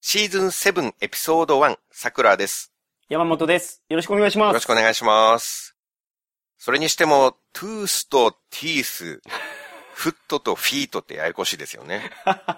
シーズン7エピソード1、さくらです。 山本です。よろしくお願いします。 よろしくお願いします。それにしても、トゥースとティース、フットとフィートってややこしいですよね。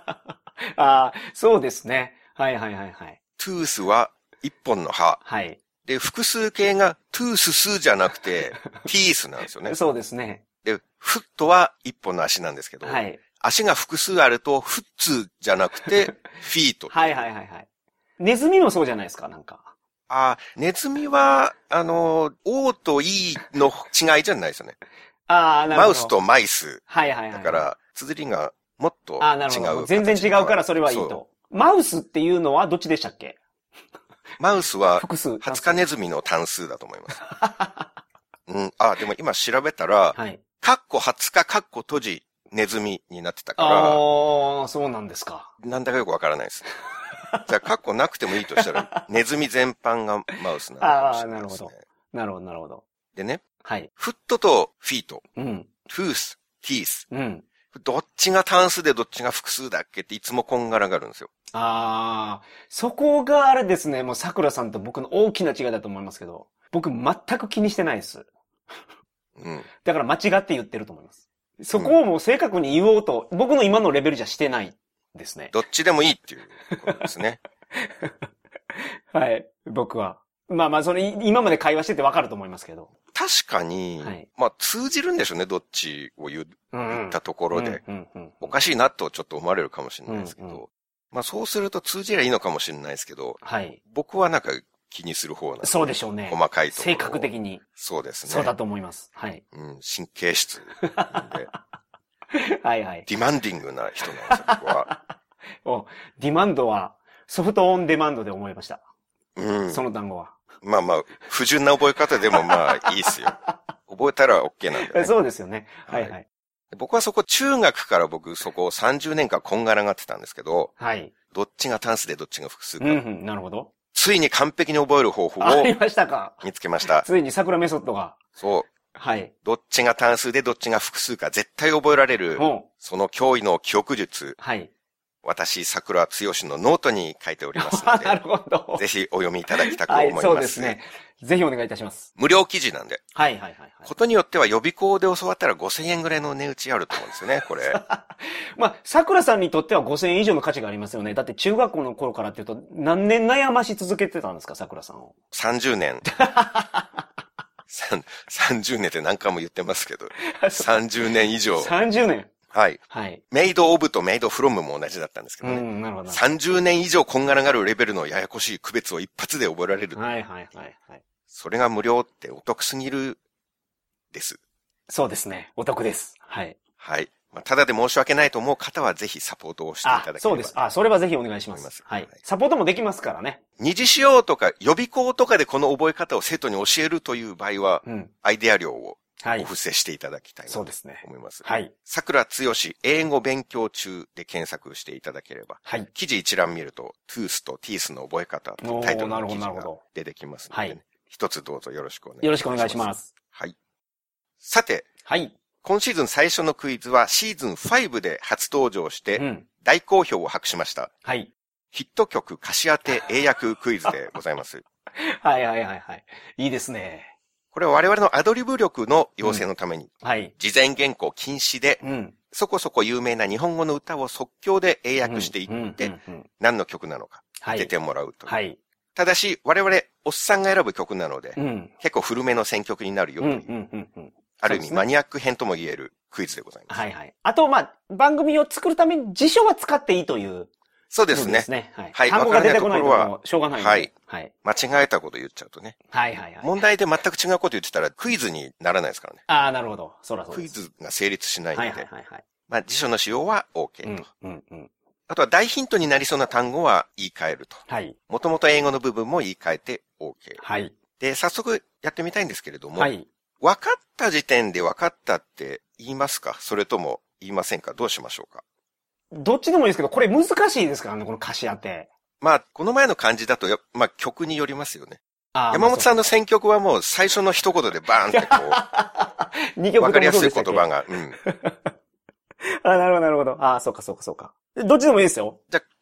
そうですね。はいはいはいはい。 トゥースは一本の歯。 はい。 で、複数形がトゥーススじゃなくて、ティースなんですよね。 そうですね。 で、フットは一本の足なんですけど、 はい。 足が複数あると、フッツじゃなくて、フィート。 はいはいはいはい。ネズミもそうじゃないですか、なんか。 ネズミは、O と E の違いじゃないですよね。 なるほど。 マウスとマイス。 はいはいはい。 だから、綴りがもっと違う。 なるほど。全然違うからそれはいいと。マウスっていうのはどっちでしたっけ？ マウスは、 複数。 20日ネズミの単数だと思います。でも今調べたら、 はい。 カッコ20日、カッコ閉じ、ネズミになってたから。 そうなんですか。 なんだかよくわからないです。じゃあ、カッコなくてもいいとしたら、ネズミ全般がマウスなのかもしれないですね。 なるほど。なるほど。 でね。 はい。 フットとフィート。 うん。 トゥース、ティース。 うん。 どっちが単数でどっちが複数だっけっていつもこんがらがるんですよ。 そこがあれですね、もう桜さんと僕の大きな違いだと思いますけど、僕全く気にしてないです。だから間違って言ってると思います。そこをもう正確に言おうと、僕の今のレベルじゃしてないですね。 どっちでもいいっていうことですね。 はい、僕は。それ今まで会話しててわかると思いますけど。 確かに、はい、通じるんでしょうね、どっちを言ったところで。おかしいなとちょっと思われるかもしれないですけど。そうすると通じりゃいいのかもしれないですけど。はい。僕はなんか気にする方なんで。 そうでしょうね。 細かいところ。 性格的に。 そうですね。 そうだと思います。はい。 神経質なんで。 はいはい。 ディマンディングな人なんですよ、僕は。 ディマンドは、ソフトオンデマンドで思いました。その単語は。 不純な覚え方でもいいっすよ。覚えたら OK なんで、ね。 そうですよね。はいはい。 僕はそこ中学からそこ30年間こんがらがってたんですけど。はい。どっちが単数でどっちが複数か。 なるほど。 ついに完璧に覚える方法を。 ありましたか。 見つけました。 ついに桜メソッドが。 そう。はい。どっちが単数でどっちが複数か絶対覚えられる。その驚異の記憶術。はい。私、桜つよしのノートに書いておりますので。 なるほど。 ぜひお読みいただきたく思います。はい、 そうですね。ぜひお願いいたします。 無料記事なんで。 はいはいはい、はい。 ことによっては予備校で教わったら5000円ぐらいの値打ちあると思うんですよね、これ。 桜さんにとっては5000円以上の価値がありますよね。だって中学校の頃からっていうと、何年悩まし続けてたんですか、桜さんを。 30年。30年って何回も言ってますけど。30年以上。 30年。 はい。はい。メイドオブとメイドフロムも同じだったんですけどね。なるほど。30年以上こんがらがるレベルのややこしい区別を一発で覚えられる。はいはいはいはい。それが無料ってお得すぎるです。 そうですね。お得です。はい。 はい。ただで申し訳ないと思う方はぜひサポートをしていただければ。 そうです。それはぜひお願いします。はい。サポートもできますからね。 二次使用とか予備校とかでこの覚え方を生徒に教えるという場合は、アイデア料をお布施していただきたいなと思います。はい。桜つよし英語勉強中で検索していただければ、はい。記事一覧見ると、トゥースとティースの覚え方とタイトルの記事が出てきますので、ね、一つどうぞよろしくお願いします。 よろしくお願いします。 はい。さて、はい。今シーズン最初のクイズはシーズン5で初登場して、大好評を博しました。はい。ヒット曲歌詞当て英訳クイズでございます。 はいはいはいはい。いいですね。 これは我々のアドリブ力の養成のために、はい。事前原稿禁止で、そこそこ有名な日本語の歌を即興で英訳していって、何の曲なのか当ててもらうという。はい。ただし、我々、おっさんが選ぶ曲なので、結構古めの選曲になるよという、ある意味マニアック編とも言えるクイズでございます。 はいはい。あと、番組を作るために辞書は使っていいという。 そうですね。 はい。単語が出てこないともしょうがない。 はい。はい。間違えたこと言っちゃうとね。はいはいはい。問題で全く違うこと言ってたらクイズにならないですからね。 なるほど。そうです。 クイズが成立しないので。はいはいはい。辞書の使用は OK と。あとは大ヒントになりそうな単語は言い換えると。はい。もともと英語の部分も言い換えて OK。はい。で、早速やってみたいんですけれども。はい。分かった時点で分かったって言いますか？それとも言いませんか？どうしましょうか？ どっちでもいいですけど、これ難しいですからね、この歌詞当て。 この前の漢字だと曲によりますよね。山本さんの選曲はもう最初の一言でバーンって二曲わかりやすい言葉が。 なるほど、なるほど。そうか。どっちでもいいですよ。 じゃあ、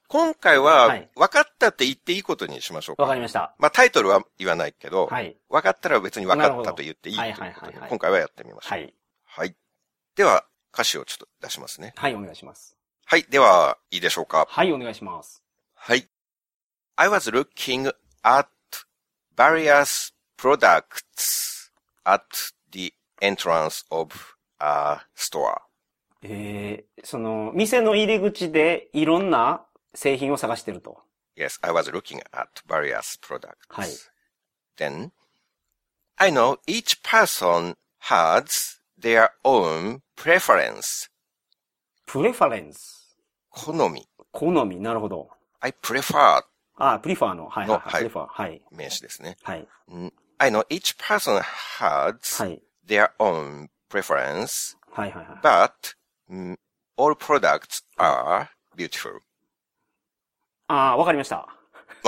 今回は、分かったって言っていいことにしましょうか。 わかりました。 まあタイトルは言わないけど、はい、分かったら別に分かったと言っていいということで、今回はやってみましょう。はい。はい。では、歌詞をちょっと出しますね。 はい、お願いします。 はい。では、いいでしょうか。 はい、お願いします。 はい。I was looking at various products at the entrance of a store. その、店の入り口でいろんな製品を探してると。 Yes, I was looking at various products. はい。 Then, I know each person has their own preference. preference? 好み。 好み、なるほど。 I prefer. prefer の、はいはいはい。prefer、はい。 名詞ですね。 はい。 I know each person has their own preference. はいはいはい。 But, all products are beautiful. わかりました。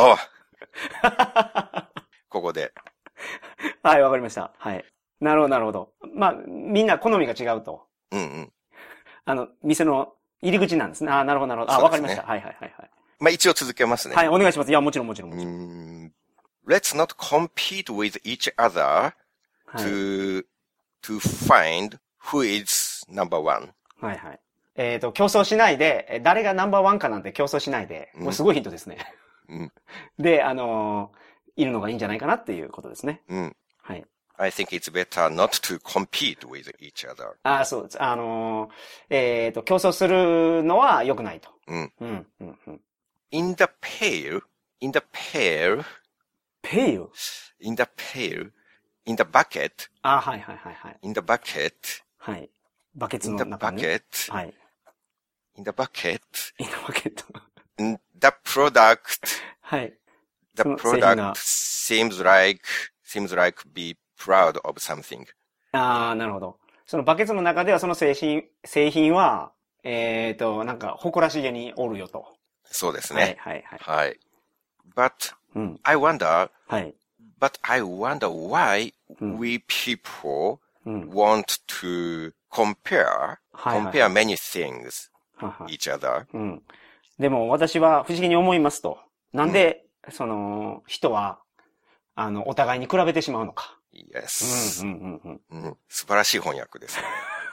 ここで。 はい、わかりました。はい。なるほど、なるほど。まあ、みんな好みが違うと。 うんうん。 店の入り口なんですね。なるほど、なるほど。わかりました。はいはいはいはい。 まあ一応続けますね。 はい、お願いします。いや、もちろん。 Let's not compete with each other to find who is number one. はいはい。競争しないで、誰がナンバーワンかなんて競争しないで、これすごいヒントですね。で、いるのがいいんじゃないかなっていうことですね。はい。 I think it's better not to compete with each other. そうです。競争するのは良くないと。 In the pail, in the bucket, はいはいはいはい。 in the bucket, はい。バケツの中に。はい。 in the bucket, the product, はい。 the product seems like be proud of something. なるほど。そのバケツの中ではその製品は、なんか誇らしげにおるよと。 そうですね。 はいはいはい。はい。But, I wonder, はい。 But I wonder why we people want to compare many things each other. でも私は不思議に思いますと。なんで、人は、お互いに比べてしまうのか。 Yes. 素晴らしい翻訳ですね。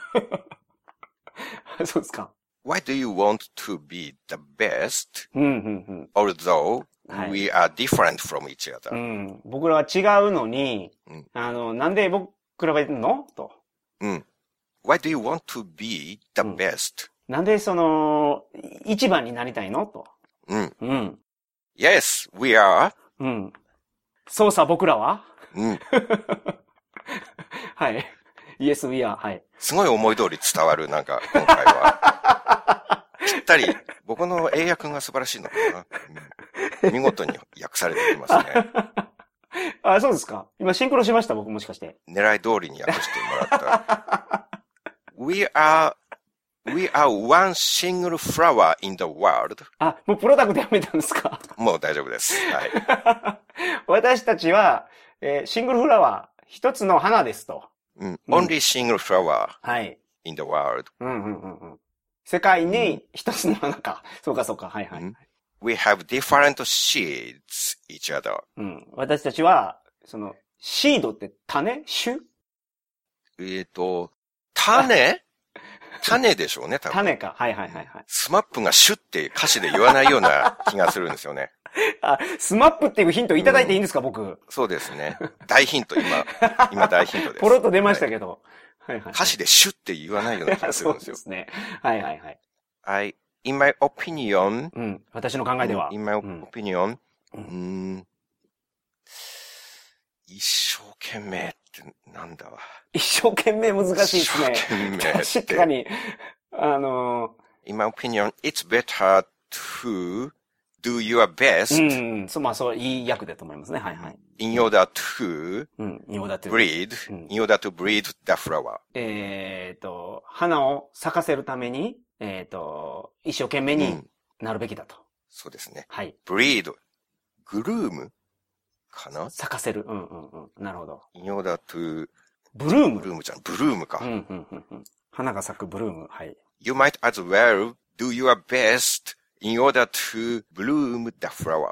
そうですか。 Why do you want to be the best, although we are different from each other? 僕らは違うのに、なんで比べるのと。 Why do you want to be the best? なんで一番になりたいのと。 Yes, we are. そうさ、僕らははい。Yes, we are. はい。 すごい思い通り伝わる、なんか、今回は。ぴったり、僕の英訳が素晴らしいのかな。見事に訳されていますね。 そうですか。今シンクロしました、僕もしかして。 狙い通りに訳してもらった。We are one single flower in the world. もうプロダクトやめたんですか？ もう大丈夫です。はい。 私たちは、シングルフラワー、一つの花ですと。 Only single flower. はい。 in the world. 世界に一つの花か。そうかそうか。はいはい。 We have different seeds each other. 私たちは、シードって種？種？ 種でしょうね、多分。 種か。はいはいはいはい。 スマップがシュって歌詞で言わないような気がするんですよね。 スマップっていうヒントいただいていいんですか、僕。 そうですね。大ヒント、今大ヒントです。 ポロッと出ましたけど。はいはい。 歌詞でシュって言わないような気がするんですよ。 そうですね。はいはいはい。 in my opinion, 私の考えでは。 in my opinion, 一生懸命ってなんだわ。 一生懸命難しいですね。 一生懸命。 確かに。 in my opinion, it's better to do your best. そう、いい訳だと思いますね。はいはい。 in order to breed the flower. 花を咲かせるために、一生懸命になるべきだと。 そうですね。 はい。 breed, groom かな？ 咲かせる。なるほど。 in order to ブルーム。 ブルームじゃん。ブルームか。 花が咲くブルーム。はい。 You might as well do your best in order to bloom the flower.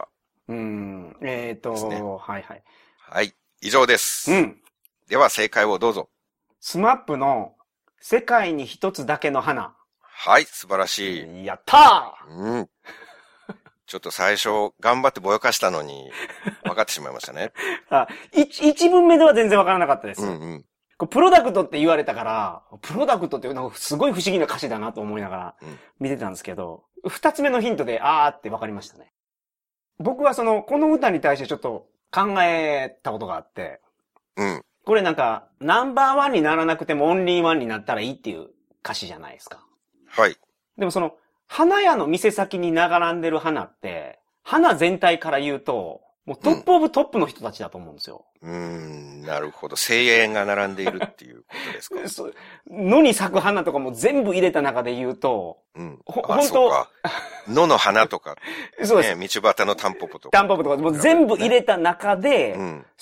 はいはい。 はい。以上です。では正解をどうぞ。 スマップの世界に一つだけの花。 はい、素晴らしい。やったー。ちょっと最初、頑張ってぼやかしたのに、分かってしまいましたね。 一文目では全然分からなかったです。プロダクトって言われたから、プロダクトってなんかすごい不思議な歌詞だなと思いながら見てたんですけど、二つ目のヒントで、って分かりましたね。僕はこの歌に対してちょっと考えたことがあって、これなんか、ナンバーワンにならなくてもオンリーワンになったらいいっていう歌詞じゃないですか。 はい。 でも花屋の店先に並んでる花って、花全体から言うと、もうトップオブトップの人たちだと思うんですよ。 なるほど。精鋭が並んでいるっていうことですか。 野に咲く花とかも全部入れた中で言うと、 本当野の花とか、そうです。道端のタンポポとか。 タンポポとか、もう全部入れた中で、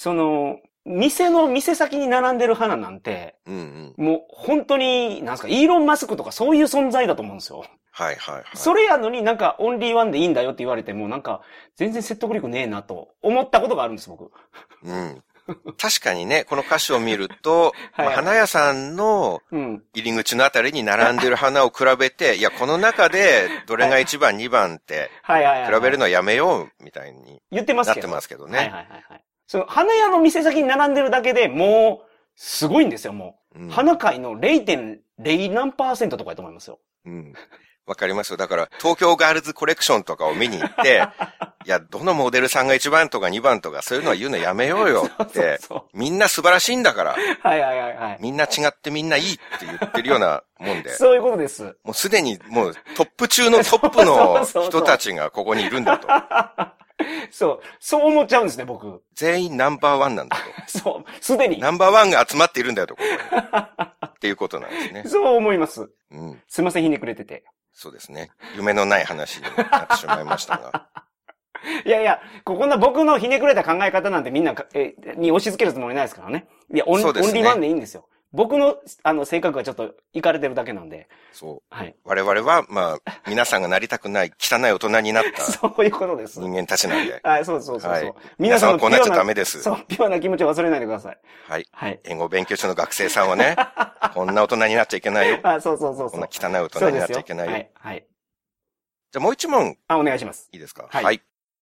店先に並んでる花なんて、もう本当に、なんですか、イーロン・マスクとかそういう存在だと思うんですよ。 はいはいはい。 それやのになんかオンリーワンでいいんだよって言われてもなんか全然説得力ねえなと思ったことがあるんです、僕。 確かにね、この歌詞を見ると、花屋さんの入り口のあたりに並んでる花を比べて、いや、この中でどれが1番、2番って比べるのはやめようみたいになってますけどね。 花屋の店先に並んでるだけでもうすごいんですよ、もう。花界の 0.0 何%とかやと思いますよ。 わかりますよ。だから、東京ガールズコレクションとかを見に行って、いや、どのモデルさんが1番とか2番とか、そういうのは言うのやめようよって、みんな素晴らしいんだから、みんな違ってみんないいって言ってるようなもんで。 そういうことです。 もうすでにもうトップ中のトップの人たちがここにいるんだと。 そう思っちゃうんですね、僕。 全員ナンバーワンなんだと。すでに。 ナンバーワンが集まっているんだよと、ここに。っていうことなんですね。 そう思います。すいません、ひねくれてて。 そうですね。夢のない話になってしまいましたが。 いや、こんな僕のひねくれた考え方なんてみんなに押し付けるつもりないですからね。いや、オンリーワンでいいんですよ。僕の、性格がちょっと、いかれてるだけなんで。 そう。はい。我々は、皆さんがなりたくない、汚い大人になった。 そういうことです。 人間たちなんで。 はい、そう。はい、 皆さんはこうなっちゃダメです。 そう、ピュアな気持ちを忘れないでください。 はい。はい。英語勉強中の学生さんはね、こんな大人になっちゃいけないよ。 そう。 こんな汚い大人になっちゃいけないよ。 はい。 じゃあもう一問。 お願いします。 いいですか？はい。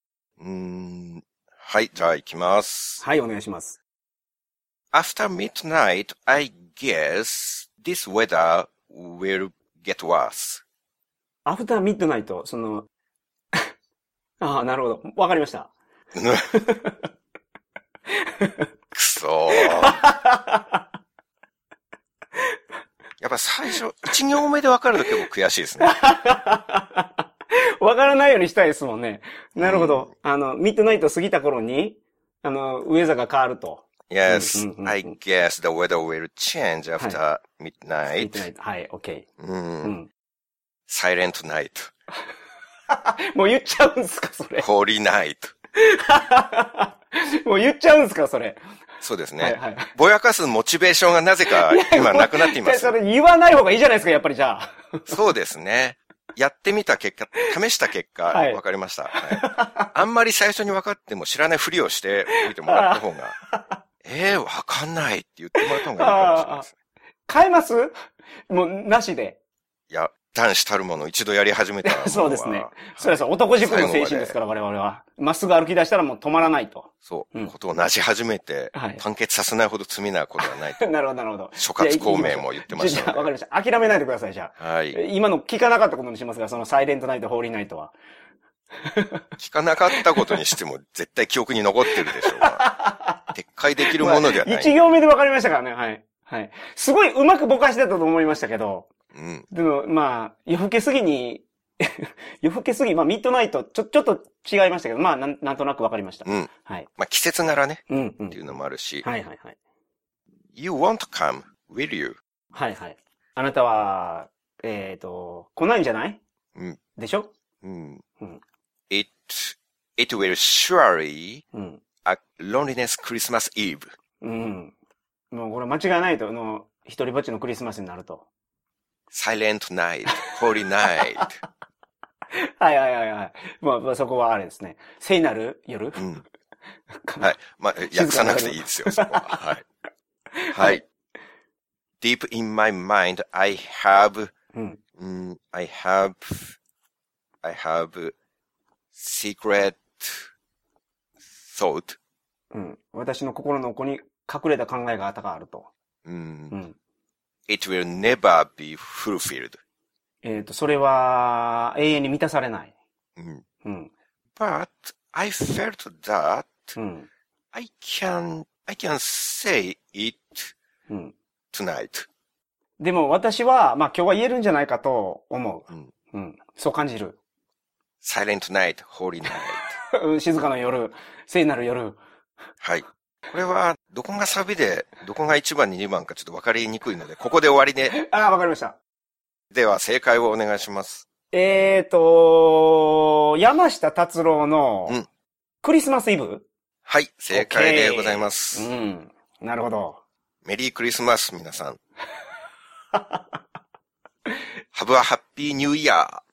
はい、じゃあ行きます。 はい、お願いします。 After midnight, I guess this weather will get worse. After midnight, なるほど。わかりました。 くそー。やっぱ最初、1行目でわかると結構悔しいですね。 わからないようにしたいですもんね。なるほど。ミッドナイト過ぎた頃に、ウェザーが変わると。 Yes, I guess the weather will change after midnight. はい、OK。 Silent night. もう言っちゃうんすか、それ。 Holy night. もう言っちゃうんすか、それ。 そうですね。ぼやかすモチベーションがなぜか今なくなっています。 それ言わない方がいいじゃないですか、やっぱりじゃあ。 そうですね。やってみた結果、試した結果、わかりました。あんまり最初に分かっても知らないふりをしておいてもらった方が、わかんないって言ってもらった方がいいかもしれないですね。 変えますもう、なしで。 いや、男子たるもの一度やり始めたら。 そうですね。そうです。男塾の精神ですから、我々は。まっすぐ歩き出したらもう止まらないと。 そう。ことをなし始めて、完結させないほど罪なことはないと。 なるほど、なるほど。 諸葛孔明も言ってました。 わかりました。諦めないでください、じゃあ。はい。今の聞かなかったことにしますが、そのサイレントナイト、ホーリーナイトは。 聞かなかったことにしても絶対記憶に残ってるでしょうが。撤回できるものではない。 一行目でわかりましたからね、はい。はい。すごいうまくぼかしてたと思いましたけど。でも、夜更けすぎに、夜更けすぎ、ミッドナイト、ちょっと違いましたけど、なんとなくわかりました。 はい。季節柄ね。っていうのもあるし。 はい。 You won't come, will you? はい。あなたは、来ないんじゃない？でしょ ？It will surely a loneliness Christmas Eve. もうこれ間違いないと、一人ぼっちのクリスマスになると。 Silent night, holy night. はいはいはいはい。まあそこはあれですね。聖なる夜、うん、 はい。まあ、訳さなくていいですよ、そこは。はい。はい。Deep in my mind, I have, I have secret thought. うん。私の心の奥に隠れた考えがあると。 It will never be fulfilled. それは永遠に満たされない。 But I felt that I can say it tonight. でも私は、まあ今日は言えるんじゃないかと思う。そう感じる。 Silent night, holy night. 静かな夜、聖なる夜。 はい。これは、どこがサビで、どこが1番に2番かちょっと分かりにくいので、ここで終わりね。 ああ、わかりました。 では、正解をお願いします。 山下達郎の、クリスマスイブ？ はい、正解でございます。 なるほど。 メリークリスマス、皆さん。Have a happy new year!